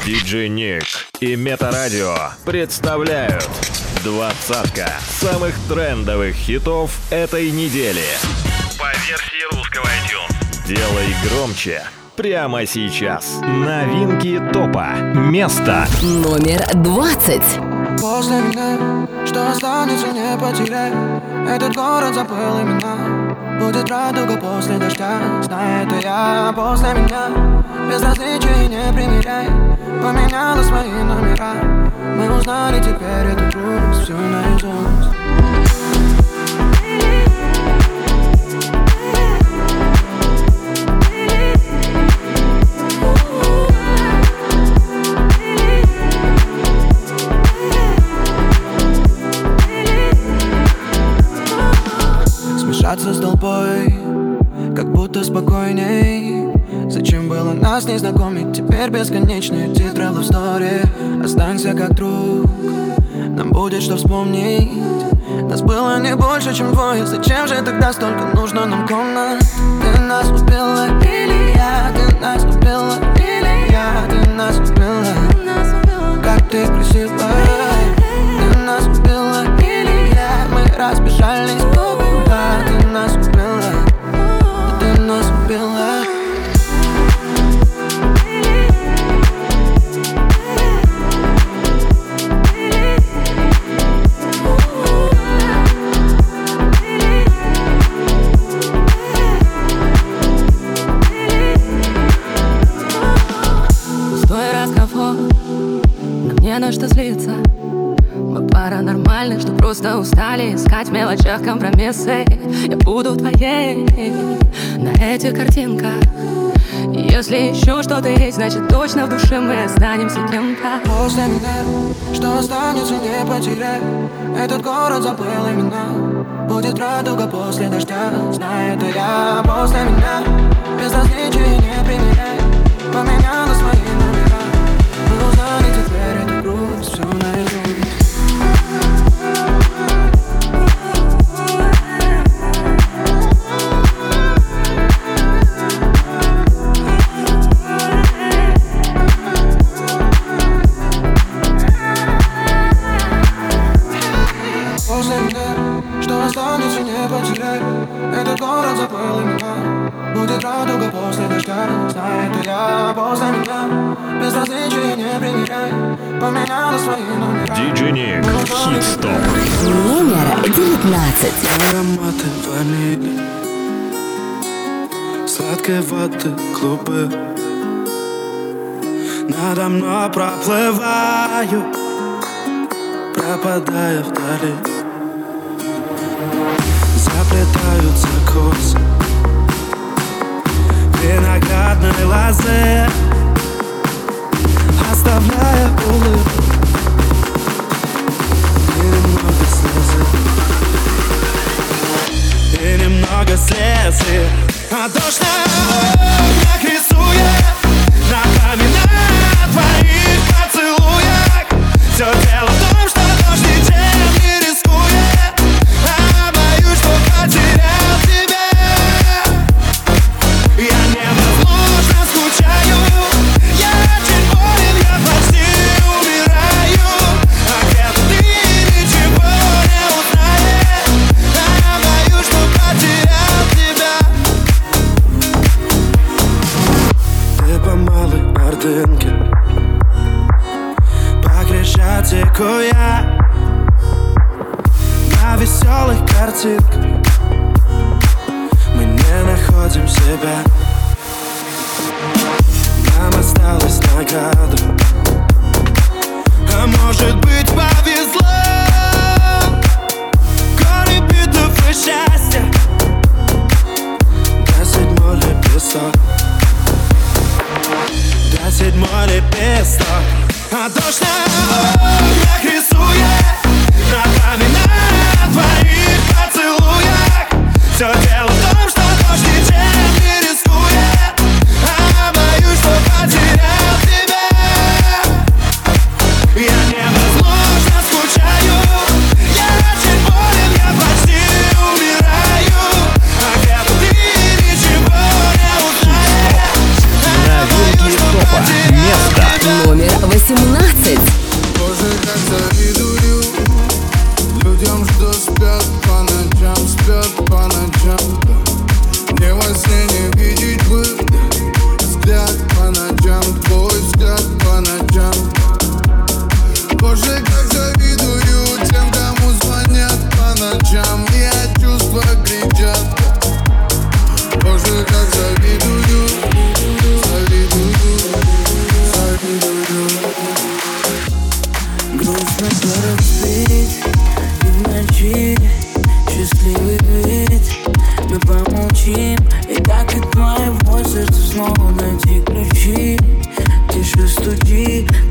Диджей Ник и Метарадио представляют двадцатка самых трендовых хитов этой недели. По версии русского iTunes. Делай громче прямо сейчас. Новинки топа. Место номер 20. После меня, что останется, не потеряй. Этот город забыл имена. Будет радуга после дождя, знаю, это я. После меня безразличия не примеряй. Поменяла свои номера. Мы узнали теперь эту грусть, всю наизусть. Смешаться с толпой, как будто спокойней. Зачем было нас не знакомить? Теперь бесконечные титры love story. Останься как друг, нам будет что вспомнить. Нас было не больше, чем двое. Зачем же тогда столько нужно нам комнат? Ты нас убила или я? Ты нас убила или я? Ты нас убила, как ты красива. Ты нас убила или я? Мы разбежались куда? Ты нас убила, ты нас убила. Не на что злиться. Мы пара нормальных, что просто устали искать в мелочах компромиссы. Я буду твоей на этих картинках. Если еще что-то есть, значит точно в душе мы останемся кем-то. После меня, что останется, не потеряй. Этот город забыл имена. Будет радуга после дождя, знаю, это я. После меня безразличия не примеряй. Поменяла свои номера. Мы узнали теперь эту грусть, всю наизусть. После меня, что останется, не потеряй. Этот город забыл имена. Будет радуга после дождя, знаю, это я. После меня безразличия не примеряй. Поменяла свои номера. Диджей Ник, хит-стоп. Номер 19. Ароматы ванили, сладкой воды клубы. Надо мной проплываю, пропадая вдали. Заплетаются косы виноградной лозы, оставляя улыбку и немного слезы. И немного слезы. А дождь на окнах рисует ногами на твоих поцелуях. Все дело в том, что дождь ничем не рискует. А боюсь, что потерял тебя. Я невозможно скучаю. Я очень болен, я почти умираю. А где-то ты ничего не узнаешь. А боюсь, что потерял тебя. Ты по малой Ордынке, по Крещатику я на веселых картинках. Мы не находим себя. Нам осталось награду, а может быть повезло. Горы битв и счастья, до седьмой лепесток, до седьмой лепесток. А дождь на окнах рисует ногами на твоих поцелуях. Все дело в том, что дождь ничем не рискует. А боюсь, что потерял тебя. Я невозможно скучаю. Я очень болен, я почти умираю. А где-то ты ничего не узнаешь. Новинки топа. Место Номер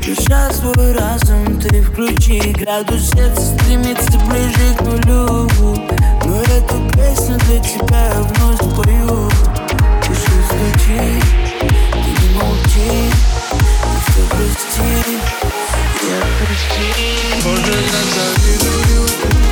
Душа свой разум ты включи, градус сердца стремится ближе к нулю. Но эту песню для тебя я вновь спою. Пиши, стучи, ты не молчи, ты все прости, я прости. Боже, как завидую.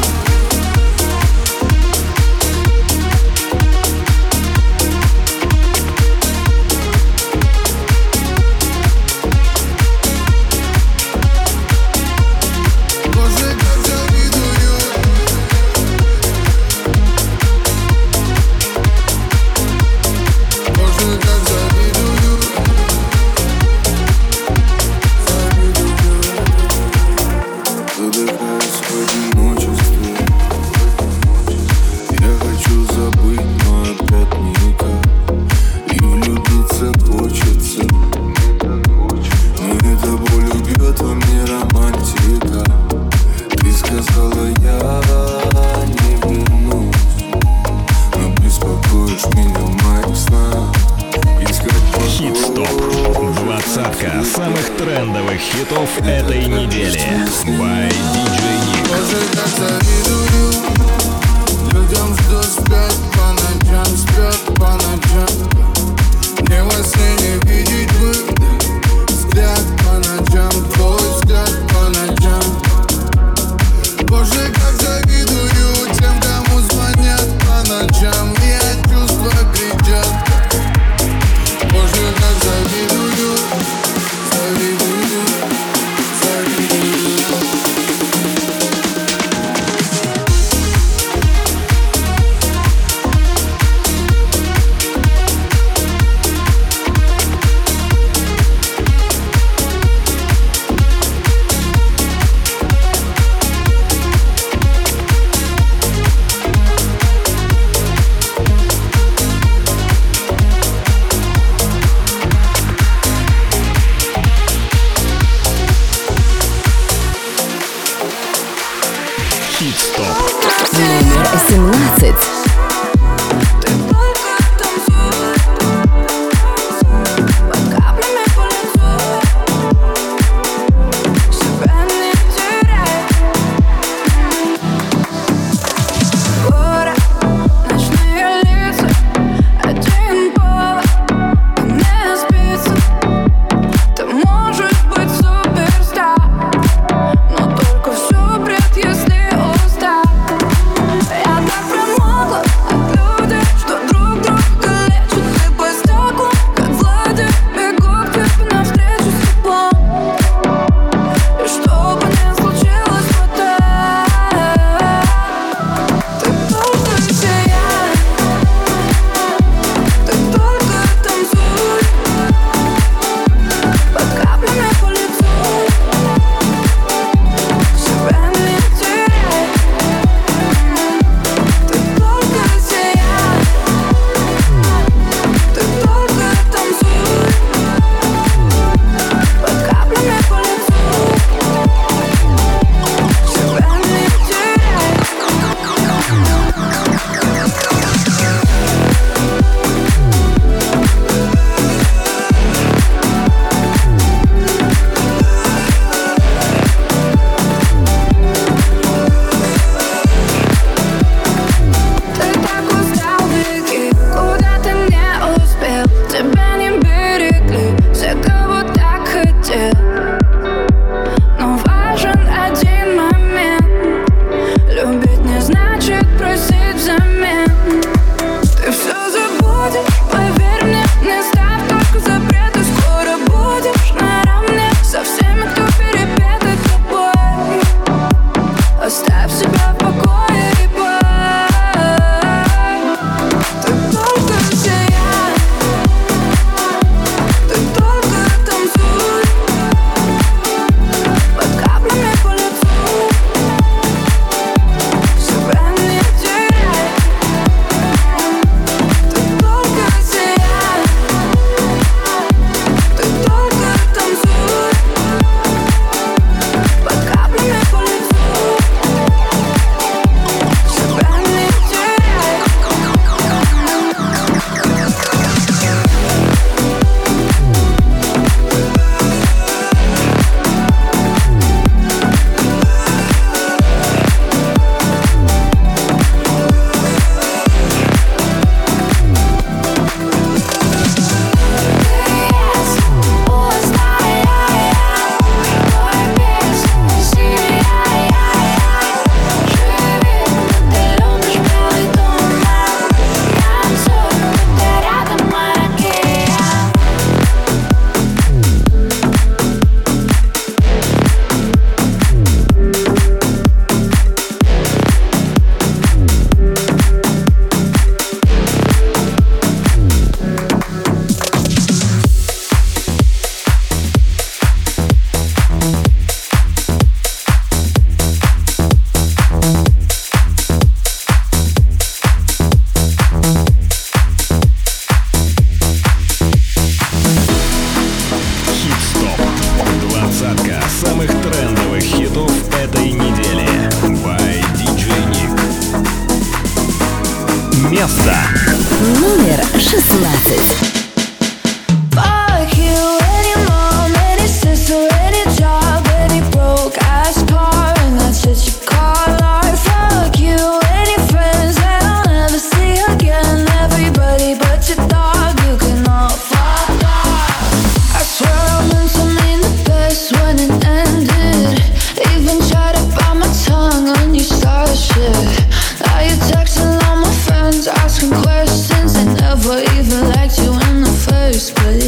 Самых трендовых хитов этой недели. By DJ Nick. Боже, как завидую людям, что спят по ночам. Мне во сне не видеть бы взгляд по ночам, твой взгляд по ночам. Боже, как завидую тем, кому звонят по ночам, и от чувства кричат. Боже, как завидую. место. Номер 16. Fuck you, any mom, any sister, any job, any broke ass car, and that's shit you call art. Fuck you, any friends that I'll never see again. Everybody but your dog, you can all fuck off. I swear I meant to mean the best when it ended. Even tried to bite my tongue when you started shit. Now you're texting all my friends, asking questions. They never even liked you in the first place.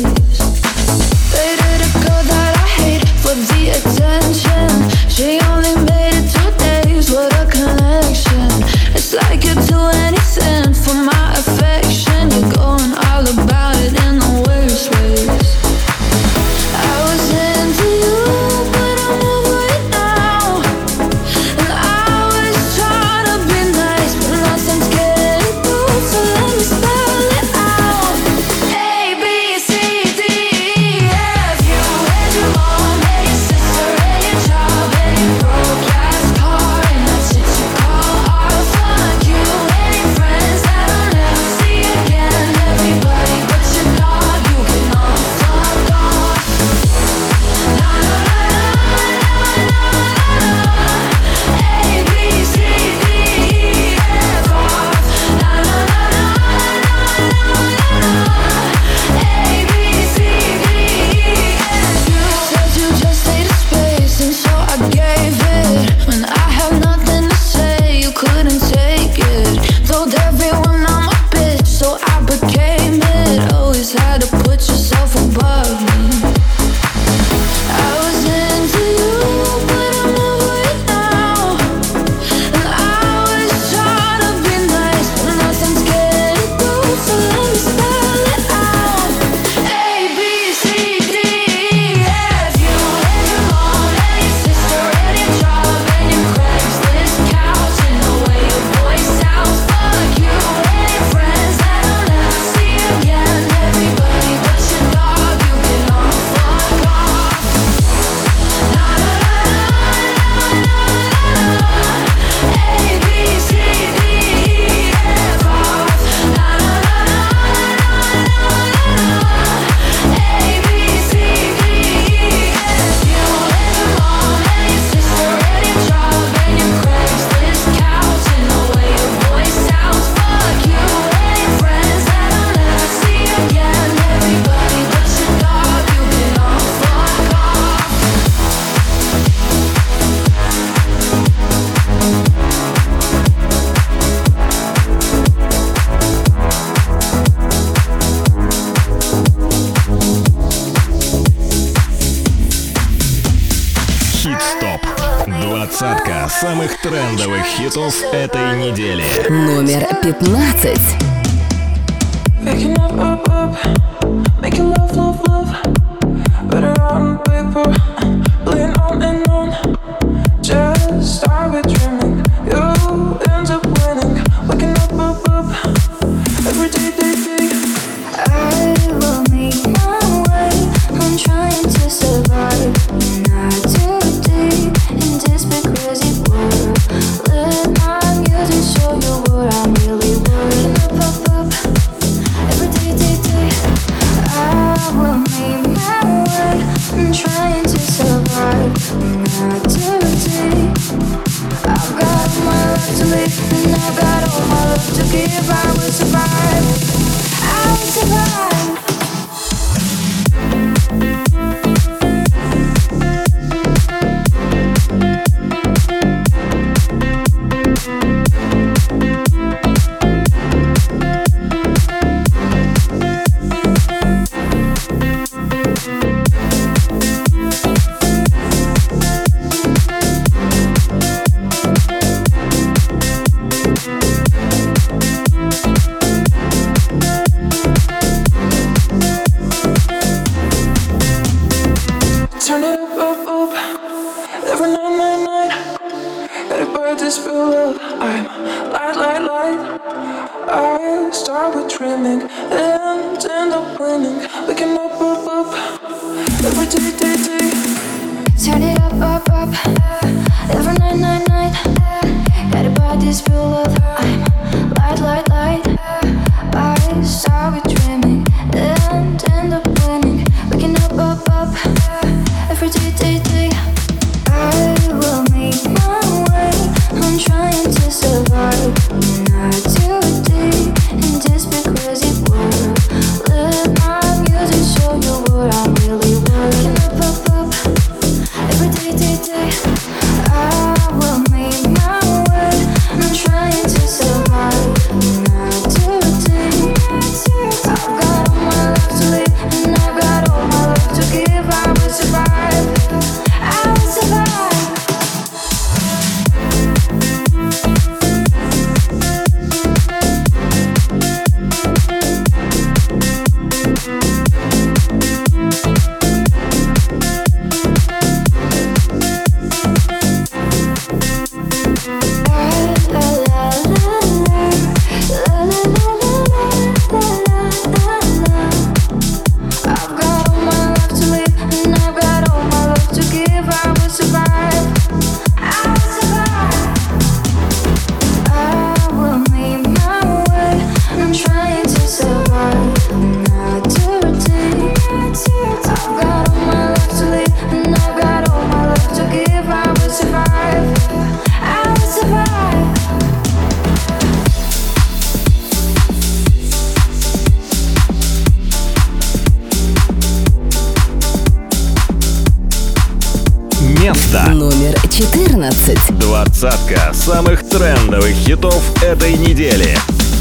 Dated a girl that I hate for the attention. She only made it 2 days, what a connection. It's like you'd do anything for my affection. You're going all about it in the worst ways. I was into you, but I'm over it now. And I was trying to be nice, but nothing's getting through, so let me spell it out. A, B, C, D, E, F. You and your mom and your sister and your job and your broke ass car, and that's shit you call art. Fuck you, any friends that I'll never see again. Everybody but your dog, you can all fuck off. Na na na na na na na. A, B, C, D, E, F, off. Na na na na na na na. A, B, C, D, E, F. You said you just needed space, and so I gave it. When I had nothing to say, you couldn't take it. Told everyone I'm a bitch, so I became it. Always had to put yourself above me. I was into you, but I'm over it now. And I was trying to be nice, but nothing's getting through, so let me spell it out. A, B, C, D, E, F. You and your mom and your sister and your job and your Craigslist couch and the way your voice sounds. Fuck you, any friends that I'll never see again. Everybody but your dog, you can all fuck off. Na na na na na na na. A, B, C, D, E, F, off. Na na na na na na na. A, B, C, D, E, F. You and your mom and your sister and your job and your Craigslist couch and the way your voice sounds. Fuck you, any friends that I'll never see again. Everybody but your dog, you can all fuck off. Хит-стоп. 20 самых трендовых хитов этой недели. Номер 15. Making up, making love, love, love. Better on paper, laying on and on. Just start with dreaming, you end up winning. Waking up, every day, day, day. I will make my way. I'm trying to survive, not too deep in this big crazy world. Let my music show you what I'm really worth. Up, every day, day, day. I will make my way. I'm trying to survive, not too deep. I've got my life to live, and I've got all my love to give. I will survive. I will survive. Turn it up, every night. Gotta burn this real love. I'm light. I start with dreaming and end up winning. Waking up, every day, day, day. Turn it up, every night. Gotta buy this real love. I'm light. места. Номер 14. Двадцатка самых трендовых хитов этой недели.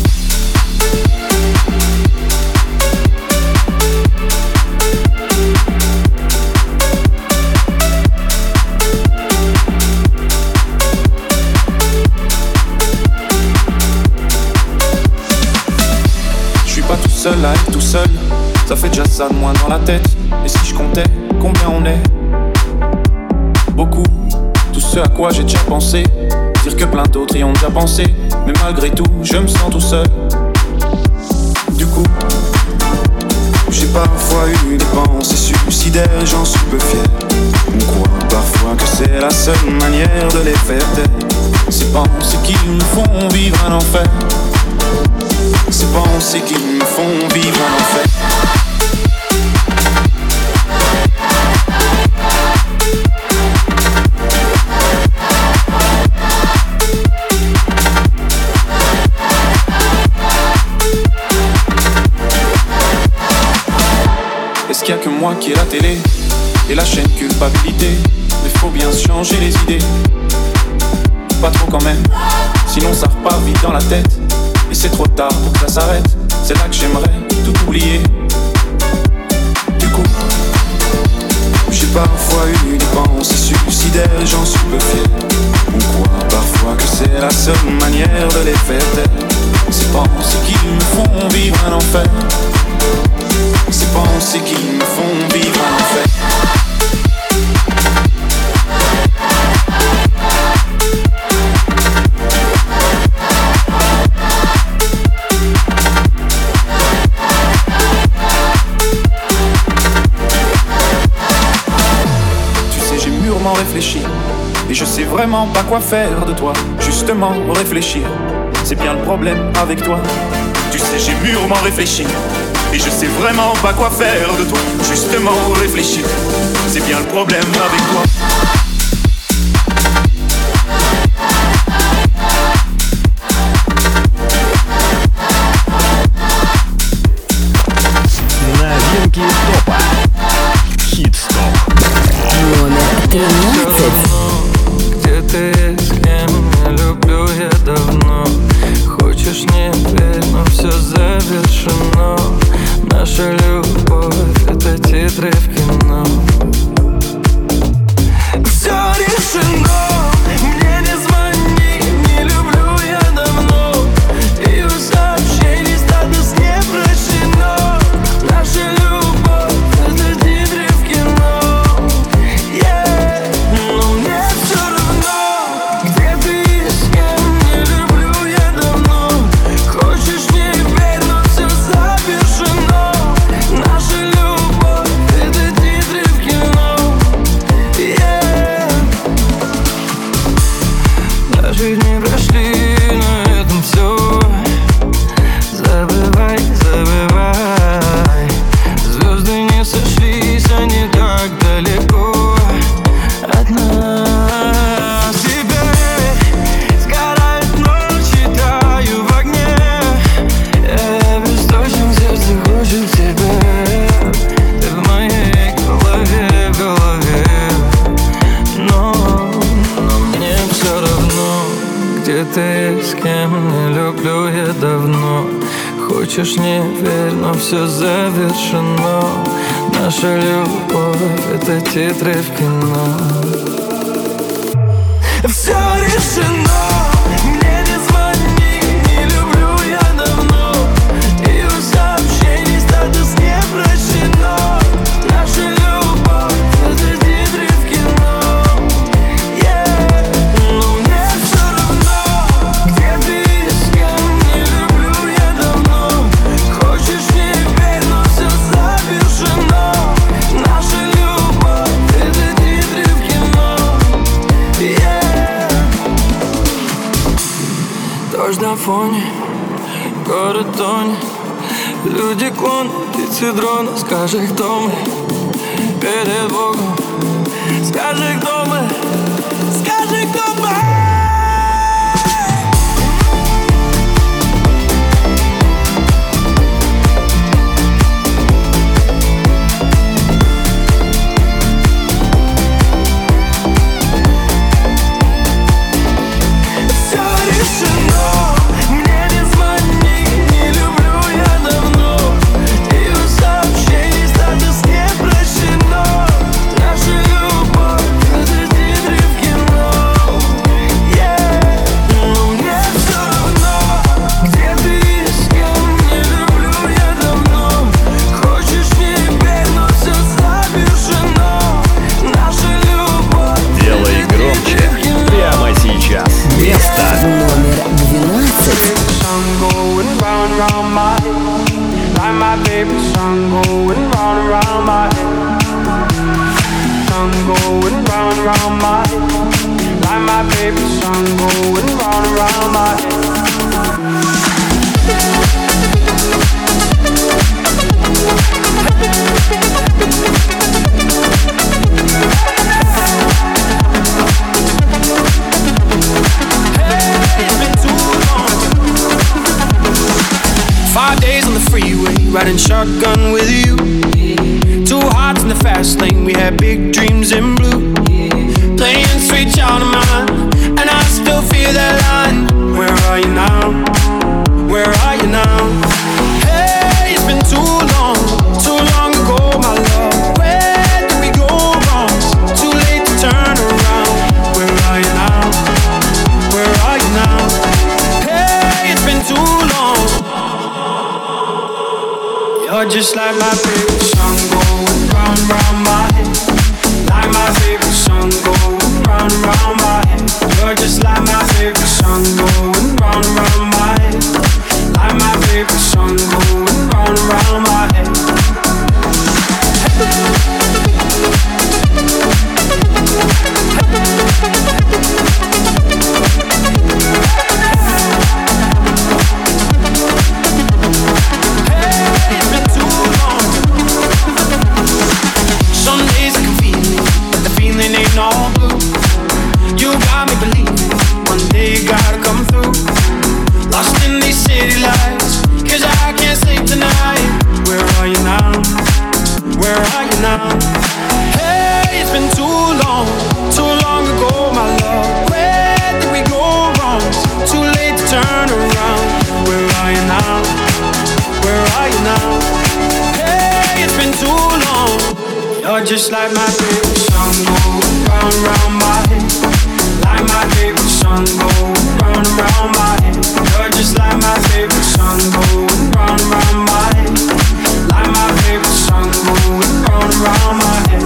Pas tout seul à être tout seul, ça fait déjà ça de moins dans la tête. Et si je comptais combien on est? Beaucoup, tout ce à quoi j'ai déjà pensé. Dire que plein d'autres y ont déjà pensé. Mais malgré tout, je me sens tout seul. Du coup, j'ai parfois eu des pensées suicidaires et j'en suis peu fier. On croit parfois que c'est la seule manière de les faire taire. Ces pensées qui me font vivre un enfer. Ces pensées qui me font vivre un enfer. Est-ce qu'il y a que moi qui ai la télé et la chaîne culpabilité? Mais faut bien se changer les idées. Pas trop quand même, sinon ça repart vite dans la tête. Et c'est trop tard pour que ça s'arrête. C'est là que j'aimerais tout oublier. Du coup, j'ai parfois eu des pensées suicidaires et j'en suis peu fier. On croit parfois que c'est la seule manière de les faire taire. Ces pensées qui me font vivre un enfer. Ces pensées qui me font vivre un enfer. Réfléchir, et je sais vraiment pas quoi faire de toi. Justement réfléchir, c'est bien le problème avec toi. Tu sais j'ai mûrement réfléchi, et je sais vraiment pas quoi faire de toi. Justement réfléchir, c'est bien le problème avec toi. Новинки топа. Хит-стоп. Номер 13. Где ты, с кем не люблю я давно. Хочешь, не верь, но все завершено. Наша любовь — это титры в кино. Все решено, мне не звони, не люблю я давно. Ее сообщений статус не прощено. Наша любовь — это титры в кино. Но мне все равно, где ты и с кем не люблю я давно. Хочешь, не верь, но все завершено. Наша любовь — это титры в кино. Наши дни прошли, на этом все. Забывай, забывай. Звезды не сошлись, они так далеко от нас. Теперь сгорает ночь, таю в огне. Я бесстрочен, сердце хочет тебя. Ты в моей голове, в голове. Но мне все равно, где ты, с кем не люблю я давно. Хочешь, не верь, но все завершено. Наша любовь — это титры в кино. Все решено, мне не звони, не люблю я давно. Ее сообщений статус не прощено. Наша любовь — это титры в кино. Но мне все равно, где ты и с кем не люблю я давно. Хочешь, не верь, но все завершено. Наша любовь — это титры в кино. Дождь на фоне, город тонет. Люди клон, птицы дрона. Скажи, кто мы перед Богом. Скажи, кто мы. Скажи, кто мы. my favorite song going round and round my head. 5 days on the freeway, riding shotgun with you. 2 hearts in the fast lane, we had big dreams in blue. Playing sweet child of mine, and I still feel that line. Where are you now? Where are you now? Hey, it's been too long ago, my love. Where did we go wrong? Too late to turn around. Where are you now? Where are you now? Hey, it's been too long. You're just like my favorite song going round and round my head. Like my favorite song going round and round my head. You're just like my favorite song going round and round my head. Like my favorite song going round and round my head. All blue. You got me believing one day you gotta come through. Lost in these city lights, 'cause I can't sleep tonight. Where are you now? Where are you now? Hey, it's been too long ago, my love. Where did we go wrong? Too late to turn around. Where are you now? Where are you now? Hey, it's been too long. You're just like my favorite song going round and round my head. Like my favorite song going round and round my head. You're just like my favorite song going round and round my head. Like my favorite song going round and round my head.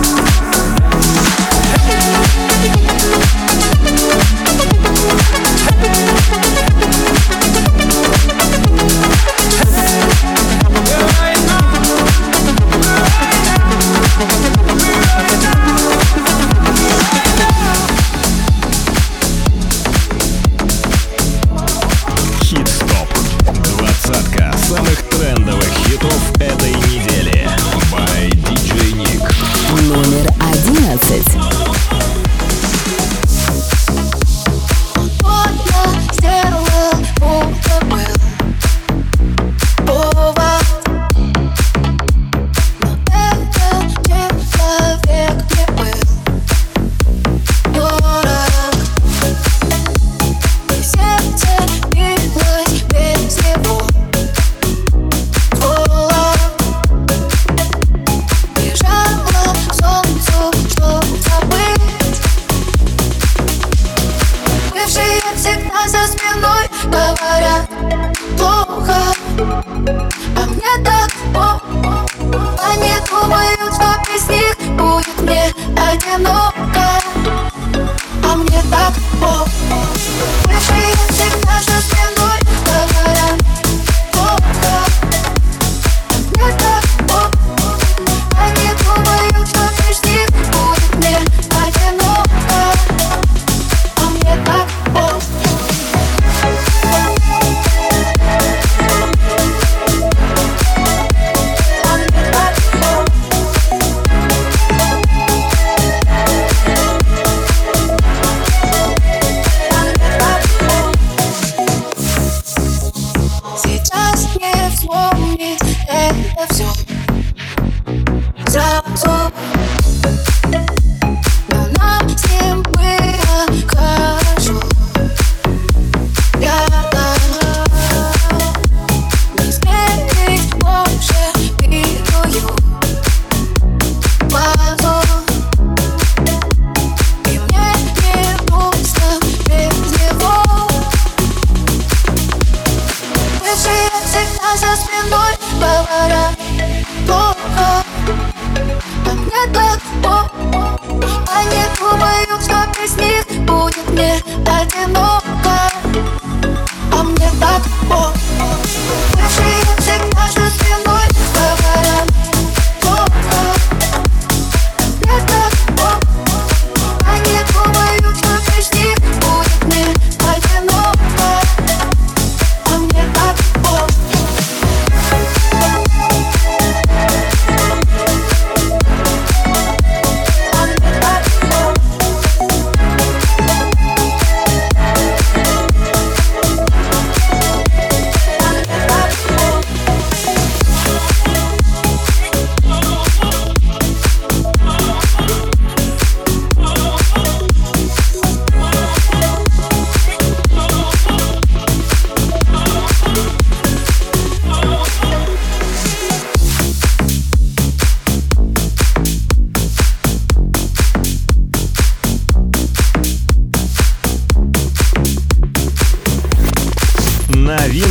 Самых трендовых хитов этой недели. By DJ Nick. Номер 11.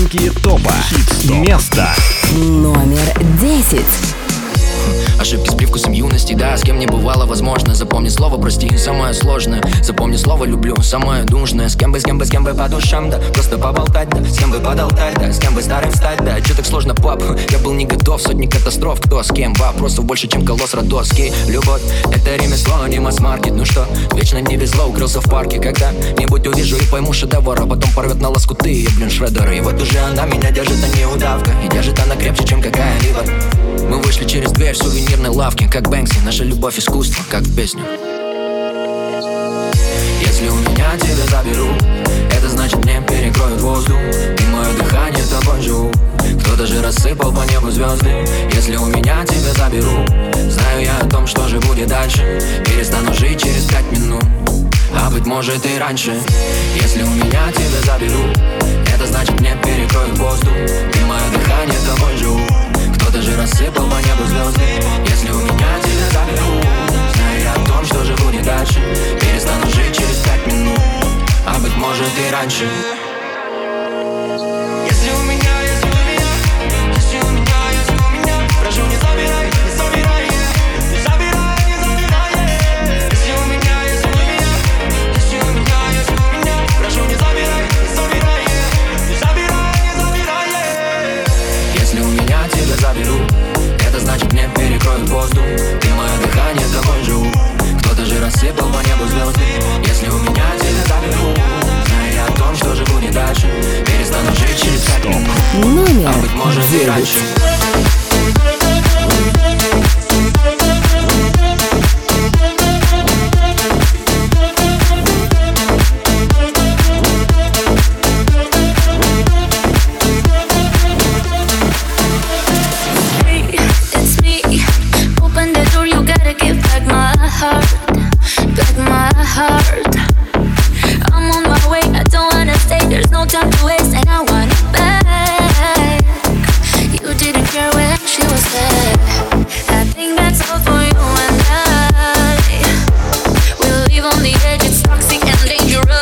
Новинки топа. Хит-стоп. Место номер 10. Ошибки с привкусом юности, да, с кем не бывало, возможно. Запомни слово прости, самое сложное. Запомни слово люблю, самое нужное. С кем бы по душам, да, просто поболтать, да. С кем бы подолтать, да, с кем бы старым стать, да. Чё так сложно, пап, я был не готов. Сотни катастроф, кто с кем, вопросов больше, чем колосс Родоский. Любовь, это ремесло, не масс-маркет. Ну что, вечно не везло, укрылся в парке. Когда-нибудь увижу и пойму шедевр, а потом порвет на лоскуты, я, шреддер. И вот уже она меня держит, а не удавка. И держит она крепче, чем какая-либо. Мы вышли через дверь в сувенирной лавке, как Бэнкси, наша любовь искусство, как в песню. Если у меня тебя заберут, это значит мне перекроют воздух, и мое дыхание тобой живу. Кто-то же рассыпал по небу звезды. Если у меня тебя заберут, знаю я о том, что же будет дальше. Перестану жить через 5 минут, а быть может и раньше. Если у меня тебя заберут, это значит мне перекроют воздух, и мое дыхание тобой живу. Кто-то же рассыпал по небу звезды. Если у меня тебя заберут, знаю я о том, что же будет дальше. Перестану жить через 5 минут, а быть может и раньше. Если у меня, прошу, не забирай, не забирай, не забирай, не забирай. Если у меня, прошу, не забирай, не забирай, не забирай, не забирай. Если у меня тебя заберут, это значит мне перекроют воздух, и мое дыхание тобой живу. Кто-то же рассыпал по небу звезды. Если у меня тебя заберут, знаю я о том, что же будет дальше. Перестану жить через 5 минут, а быть может и раньше. I'm on my way, I don't wanna stay. There's no time to waste, and I want it back. You didn't care when she was there. I think that's all for you and I. We'll leave on the edge, it's toxic and dangerous.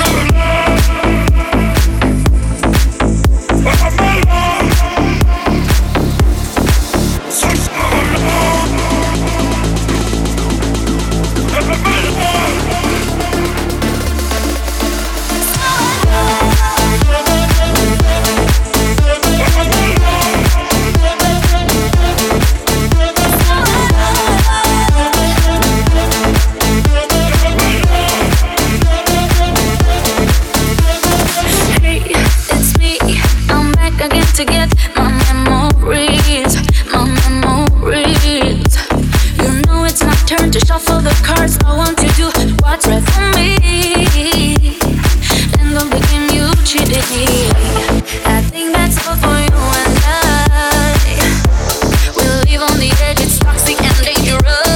To get my memories. You know it's my turn to shuffle the cards. I want to do what's right for me. And don't begin, you cheated me. I think that's all for you and I. We'll leave on the edge, it's toxic and dangerous.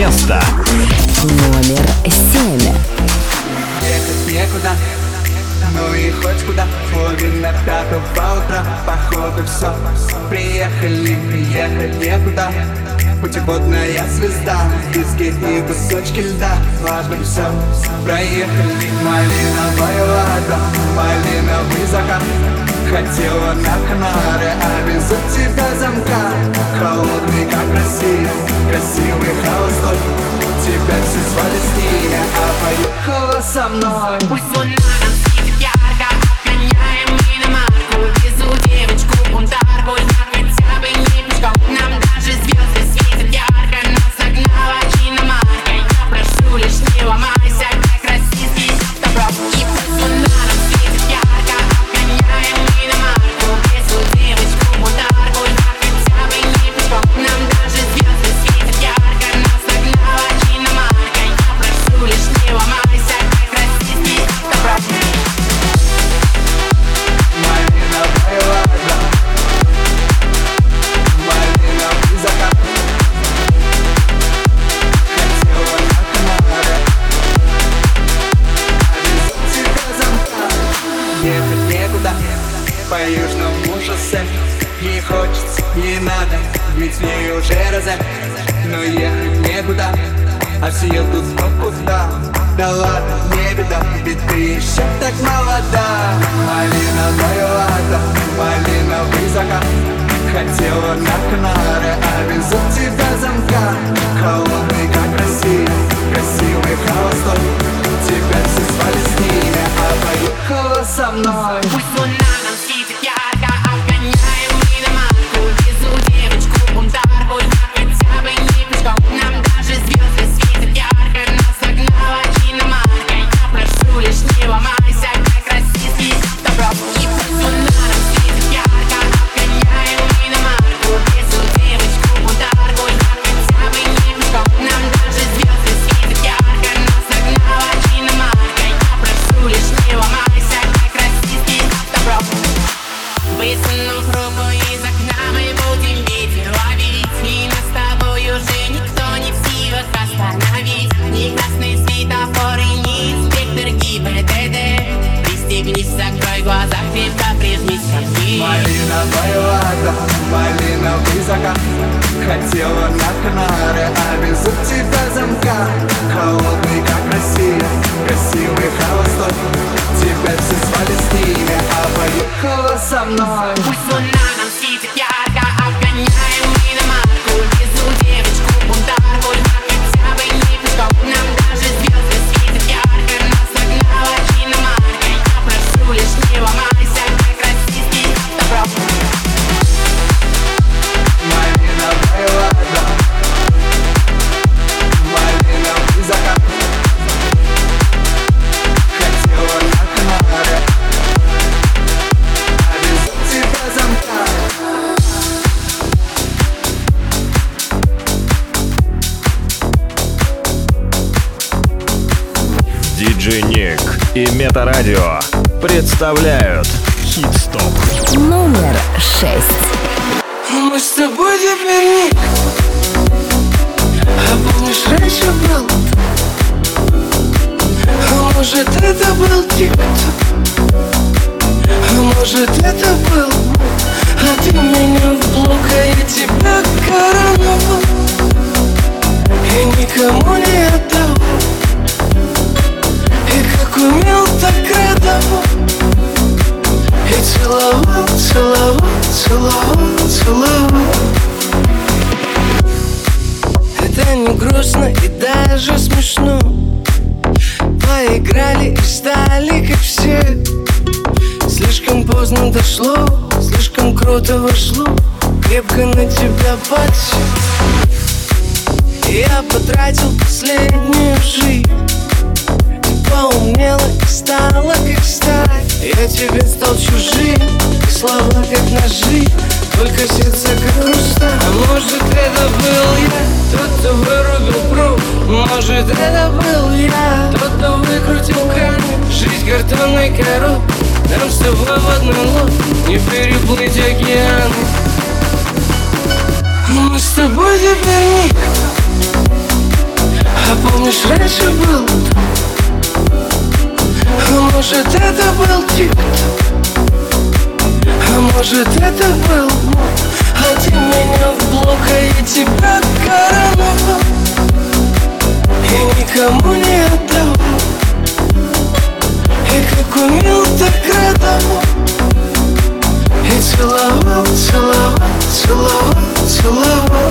место. Номер 7. Ехать некуда, ну и хоть куда. Половина пятого утра, походу все. Приехали, ехать некуда. Путеводная звезда, диски и кусочки льда. Важно все, проехали. Малиновая вода, малиновый закат. Хотела на Канары, а без тебя замка. Холодный, как Россия, красивый холостой. Тебя все звали с ними, а поехала со мной. Пусть луна нам светит ярко, обгоняем иномарку. Везу девочку бунтарку, я хотя бы не пешком. Нам даже звезды светят ярко, нас нагнала иномарка. Я прошу лишь не ломайся, как российский добро. И пусть луна нам светит ярко, обгоняем иномарку. Везу девочку бунтарку, я хотя бы не пешком. Нам даже звезды светят ярко, нас нагнала иномарка. Я прошу лишь не ломайся, как российский добро. Малиновая вода, малиновый закат. Хотела на Канары, а без тебя замка. Ехать некуда, по южному шоссе. Не хочется, не надо, ведь мне уже розет. Но ехать некуда, а все едут кто куда. Да ладно, не беда, ведь ты еще так молода. Малиновая вода, малиновый закат. Хотела на Канары, а без тебя замка. Холодный, как Россия, красивый холостой. Тебя все звали с ними, а поехала со мной. Пусть луна нам светит ярко, обгоняем иномарку. Везу девочку бунтарку, я хотя бы не пешком. Нам даже звезды светят ярко, нас нагнала иномарка. Я прошу лишь не ломайся, как российский добро. И пусть луна нам светит ярко, обгоняем иномарку. Везу девочку бунтарку, я хотя бы не пешком. Нам даже звезды светят ярко, нас нагнала иномарка. Я прошу лишь не ломайся, как российский добро. Высунув руку из окна, мы будем ветер ловить. И нас с тобой уже никто не в силах остановить. Ни красный светофор и ни инспектор ГИБДД. Пристегнись, закрой глаза, крепко прижмись ко мне. Малиновая вода, малиновый закат. Хотела на Канары, а без тебя замка. Холодный, как Россия, красивый холостой. Тебя все звали с ними, а поехала со мной. Пусть луна нам светит ярко, обгоняем иномарку. Везу девочку бунтарку, я хотя бы не пешком. Нам даже звезды светят ярко, нас нагнала иномарка. Я прошу лишь не ломайся, как российский добро. Малиновая вода, малиновый закат. Хотела на Канары, а без тебя замка. Диджей Ник и Метарадио представляют Хит-стоп. Номер 6. Мы с тобой теперь ник. А помнишь, раньше был? А может, это был тик-ток? А может, это был? А ты меня в блок, а я тебя короновал. И никому не отдал. И как умел, так радовал. И целовал, целовал, целовал, целовал. Это не грустно и даже смешно. Поиграли и стали как все. Слишком поздно дошло, слишком круто вошло. Крепко на тебя подсел. Я потратил последнюю жизнь. Ты поумнела и стала как сталь. Я тебе стал чужим, и слова как ножи, только сердце как хрусталь. А может, это был я, тот, кто вырубил пруд. Может, это был я, тот, кто выкрутил кран. Жизнь картонной коробкой, нам с тобой в одной лодке не переплыть океан. Мы с тобой теперь ник. помнишь, раньше был, а может это был тик-ток, а может это был мод, а ты меня в блок, а я тебя короновал и никому не отдавал, и как умел, так радовал, и целовал, целовал, целовал, целовал.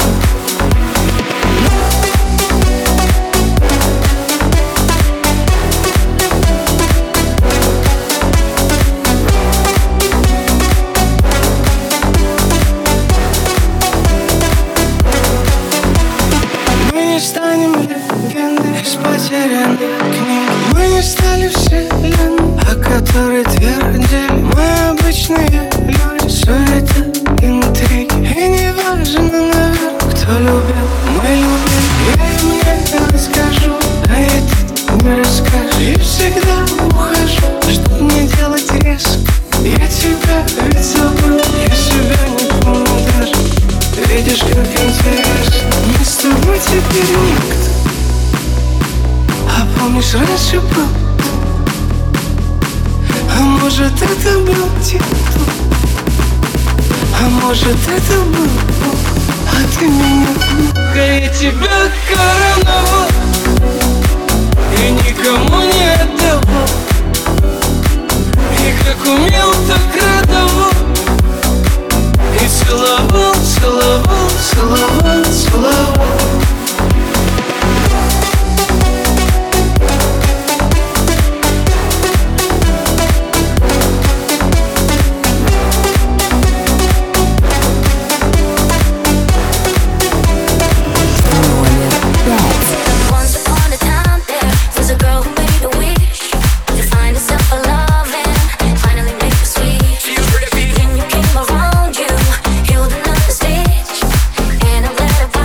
Мы не станем легендой из потерянных книг. Мы не стали вселенной, о которой твердили. Мы обычные люди, суета, интриги. И не важно, наверное, кто любил, мы любим. Я им не расскажу, а этот не расскажешь. И всегда ухожу, чтоб не делать резко. Я тебя ведь забыл, я себя не помню даже. Видишь, как интересно, мы с тобой теперь никто. А помнишь, раньше был, а может это был тик-ток, а может это был Бог, а ты меня плохо, я тебя короновал и никому не отдавал, и как умел, так радовал, и целовал, целовал, целовал, целовал. And I'm glad I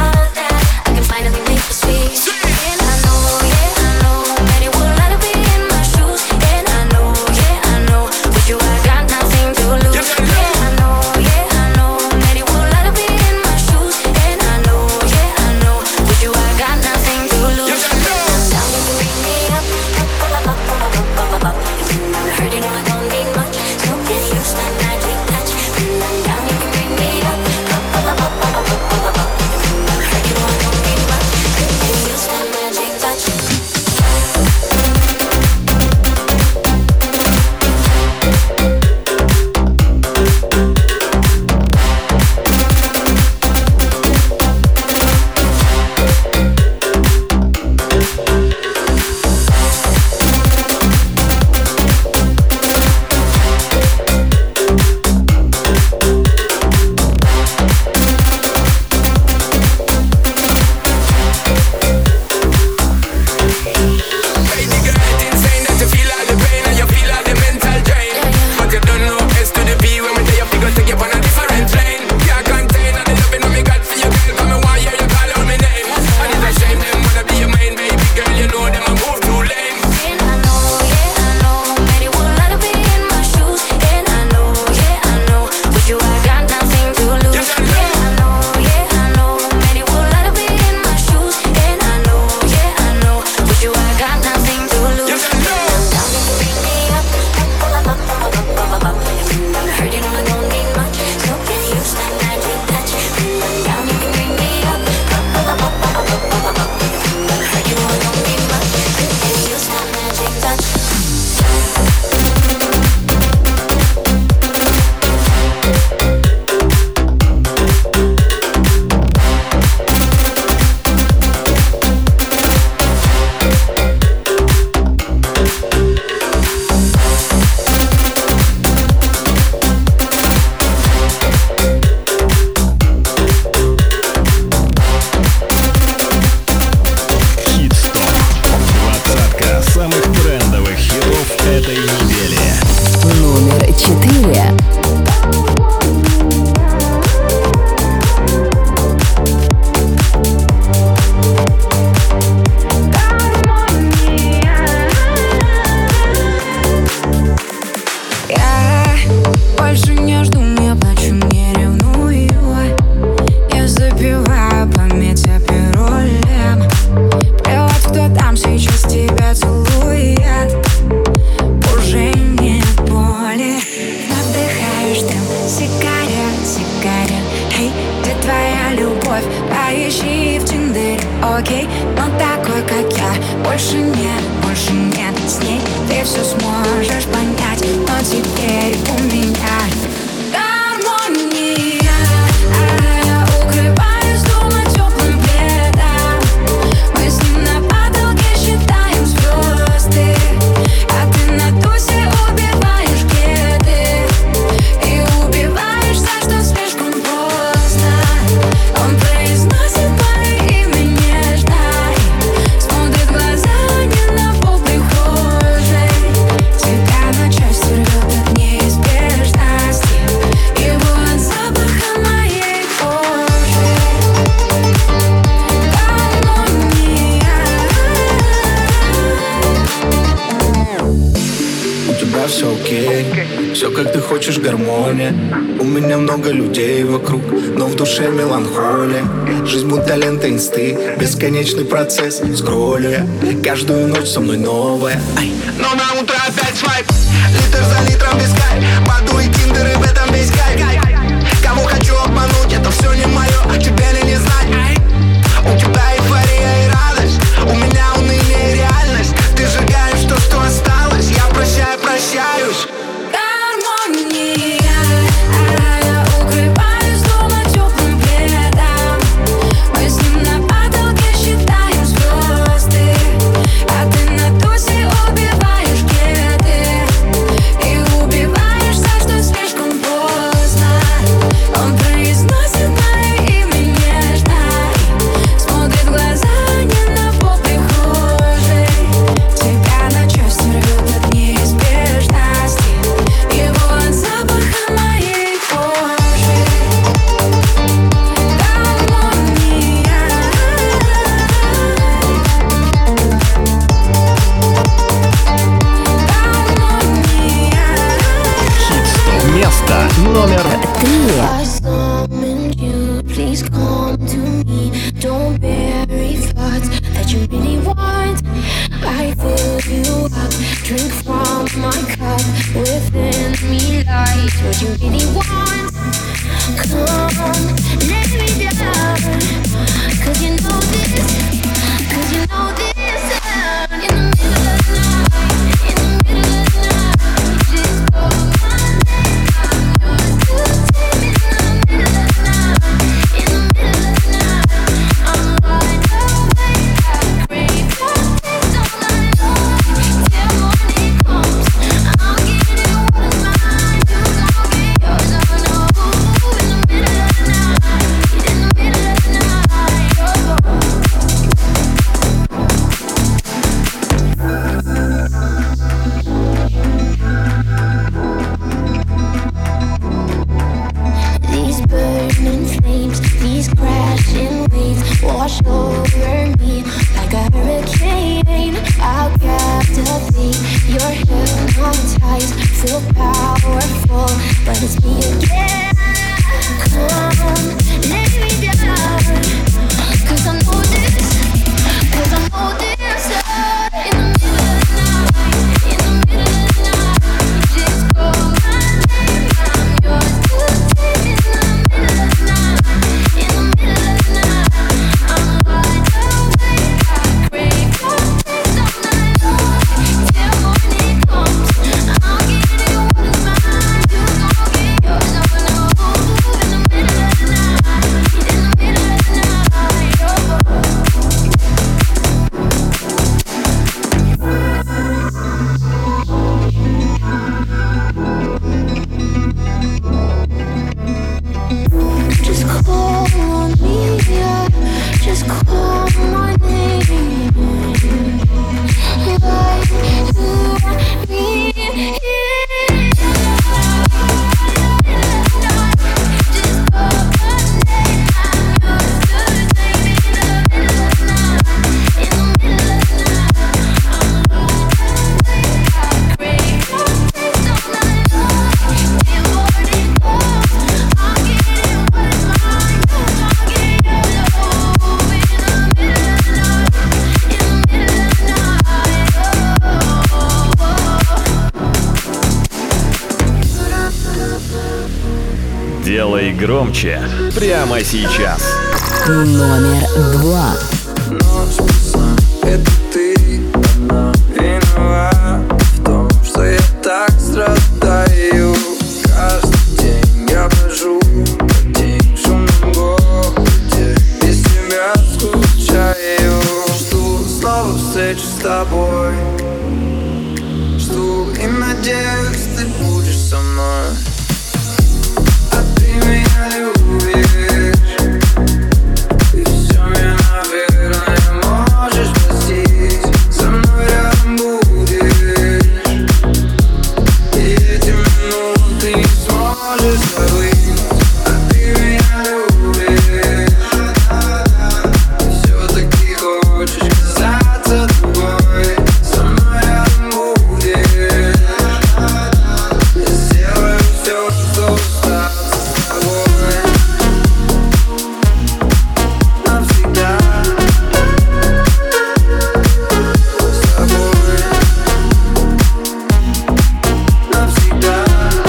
окей, но такой, как я, больше нет с ней. Ты все сможешь понять, но теперь у меня гармония. Укрываюсь дома теплым пледом. Мы с ним на потолке считаем звезды, а ты на тусе убиваешь кеды и убиваешь за что слишком поздно. Он произносит мое имя нежно, смотрит в глаза не на пол прихожей. Тебя на части рвет от неизбежности, его от запаха моей кожи. У тебя все окей, все как ты хочешь, гармония. У меня много людей вокруг, но в душе меланхолия. Жизнь будто лента инсты, бесконечный процесс. Скроллю я, каждую ночь со мной новая. Но на утро опять свайп, литр за литром без кайф. Баду и тиндер, и в этом весь кайф. Кого хочу обмануть, это все не мое, тебе ли не знать. У тебя эйфория и радость, у меня уныние и реальность. Ты сжигаешь то, что осталось, я прощаюсь. Гармония. Укрываюсь дома теплым пледом. Мы с ним на потолке считаем звезды, а ты на тусе убиваешь кеды и убиваешь за что слишком поздно. Он произносит мое имя нежно, смотрит в глаза не на пол прихожей. Тебя на части рвет от неизбежности, его от запаха моей кожи. Место номер 3. I summoned you, please come to me. Don't bury thoughts that you really want. I fill you up, drink from my cup. Within me lies what you really want. Come, let me down, 'cause you know this, 'cause you know this. In the middle of the night, in the middle of the night, you just call my name. I'm yours to take. In the middle of the night, in the middle of the night, I'm wide awake. I crave your taste all night long. Till morning comes, I'll give you what is mine. You gon' get yours, oh no. In the middle of the night, in the middle of the night, oh. These burning flames, these crashing waves wash over me like a hurricane. I'll captivate, you're hypnotized, feel powerful, but it's me again. Come, let me down, 'cause I know this, 'cause I know this. In the middle of the night, in the middle of the night, you just call my name. I'm yours to take. In the middle of the night, in the middle of the night, I'm wide awake. I crave your taste all night long. Till morning comes, I'll give you what is mine. You gon' get yours, oh no. In the middle of the night, in the middle of the night, oh. Just call on me, yeah. Just call my name. Like you want me, yeah. Just call my name. I'm yours to take. In the middle of the night, in the middle of the night, I'm wide awake. I crave your taste all night long. Till morning comes, I'll give you what is mine. You gon' get yours, oh. In the middle of the night, in the middle of the night, oh. Делай громче прямо сейчас. Номер 2. до встречи с тобой. Жду и надеюсь, ты будешь со мной. А ты меня любишь, и все меня, наверное, можешь простить. Со мной рядом будешь, и эти минуты ты не сможешь забыть. А ты меня любишь, все-таки хочешь казаться другой. Со мной рядом будешь, я сделаю все, чтобы остаться с тобой навсегда. С тобой навсегда.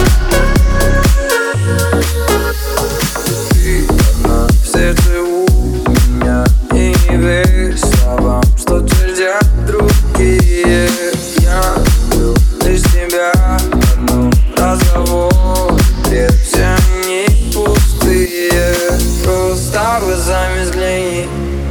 Ты одна в сердце у меня, и не верь словам, что твердят другие. Я люблю лишь тебя одну. Разговоры, бред, все они пустые. Просто глазами взгляни,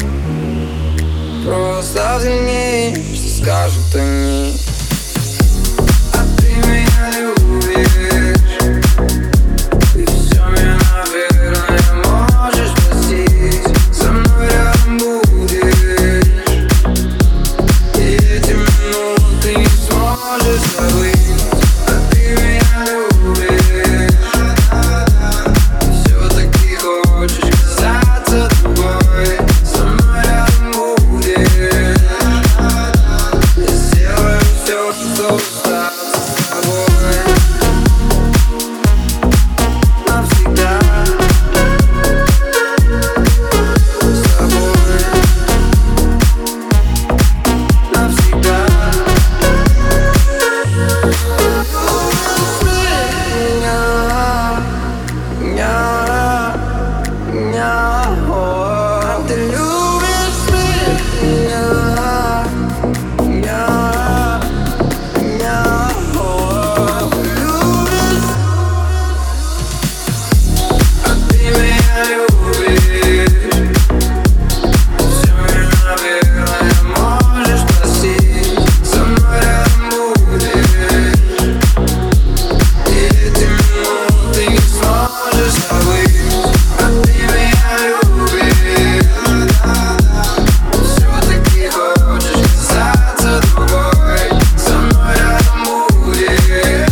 просто взгляни, что скажут они. А ты меня любишь, и все меня, наверное, можешь простить. Со мной рядом будешь, и эти минуты ты не сможешь забыть. А ты меня любишь, все-таки хочешь казаться другой. Со мной рядом будешь, я сделаю все, чтобы остаться с тобой навсегда. С тобой навсегда. Ты любишь меня, любишь. А ты меня любишь, все меня, наверное, можешь простить. Со мной рядом будешь, и эти минуты ты не сможешь забыть. А ты меня любишь, все-таки хочешь казаться другой. Со мной рядом будешь, я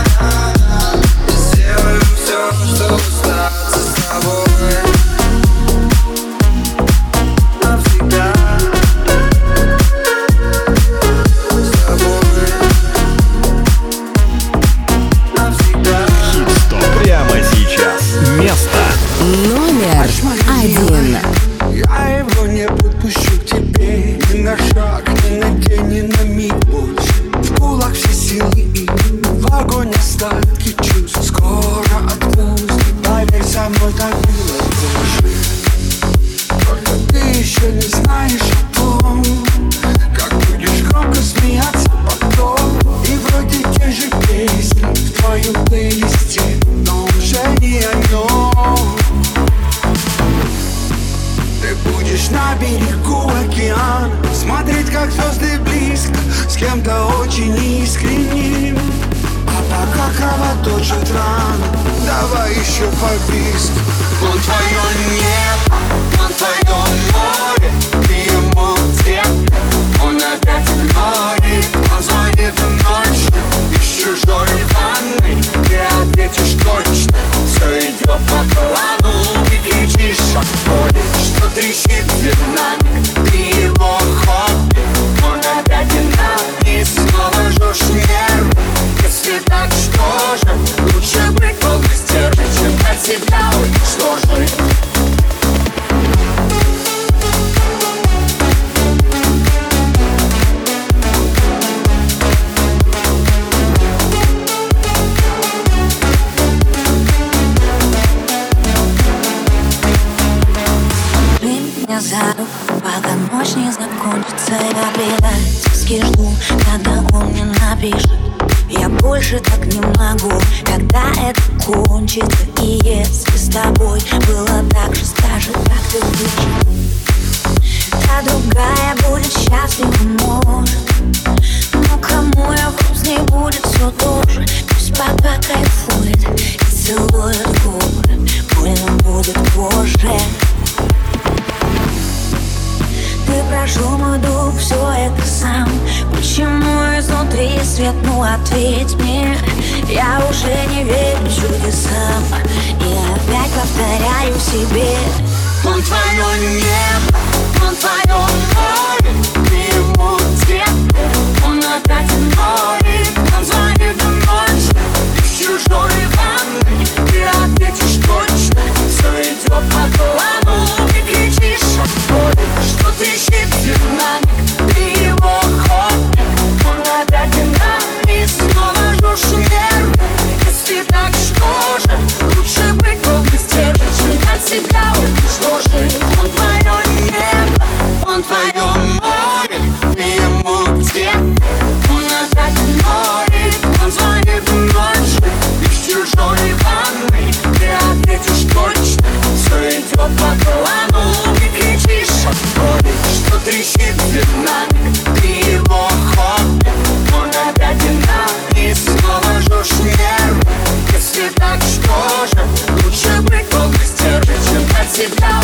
сделаю все, чтобы остаться с тобой навсегда. С тобой навсегда. Хит-стоп прямо сейчас. Место Номер 1. Я его не подпущу к тебе ни на шаг, ни на день, ни на миг больше. В кулак все силы и в огонь остатки чувств. Скоро отпусти, поверь, со мной так было больше. Только ты еще не знаешь о том, как будешь громко смеяться потом. И вроде те же песни в твоем плейлисте, но уже не о нем. Ты будешь на берегу океана, смотреть, как звезды близко, с кем-то очень искренним. А пока кровоточит рана, давай еще побиск. Он твое небо, он твое море, ты ему цвет, он опять игнорит. Он звонит ночью из чужой ванной, ты ответишь точно, все идет по плану. Ты кричишь от боли, что трещит динамик, ты его хобби. Он опять динамик, снова жжешь нервы. Если так, что же, лучше быть долго стервой, чем от себя уничтожить. За руку, пока ночь не закончится. Я предательски жду, когда он мне напишет. Я больше так не могу, когда это кончится. И если с тобой было так же, скажи, как ты выжил. Та другая будет счастлива, кайфует и целует губы. Больно будет позже. Ты прошел мой дух, все это сам. Почему изнутри свет, ну ответь мне. Я уже не верю чудесам и опять повторяю себе: он твое небо, он твое море, ты ему где? Он опять море, он звонит ночью, ты в чужой ванной, ты ответишь точно, все идет по плану, ты кричишь от боли, что трещит динамик, ты его хобби, он опять динамик, снова жжешь нервы. Если так, что же, лучше быть побыстрее, чем от себя уничтожить. Он твое небо, он твое море, ты ему где? Он опять море, он звонит ночью, ты в чужой ванной, ты ответишь точно, все идет по плану, ты кричишь от боли, что трещит динамик, ты его хобби, он опять динамик, снова жжешь нервы. Если так, что же, лучше быть побыстрее, чем от себя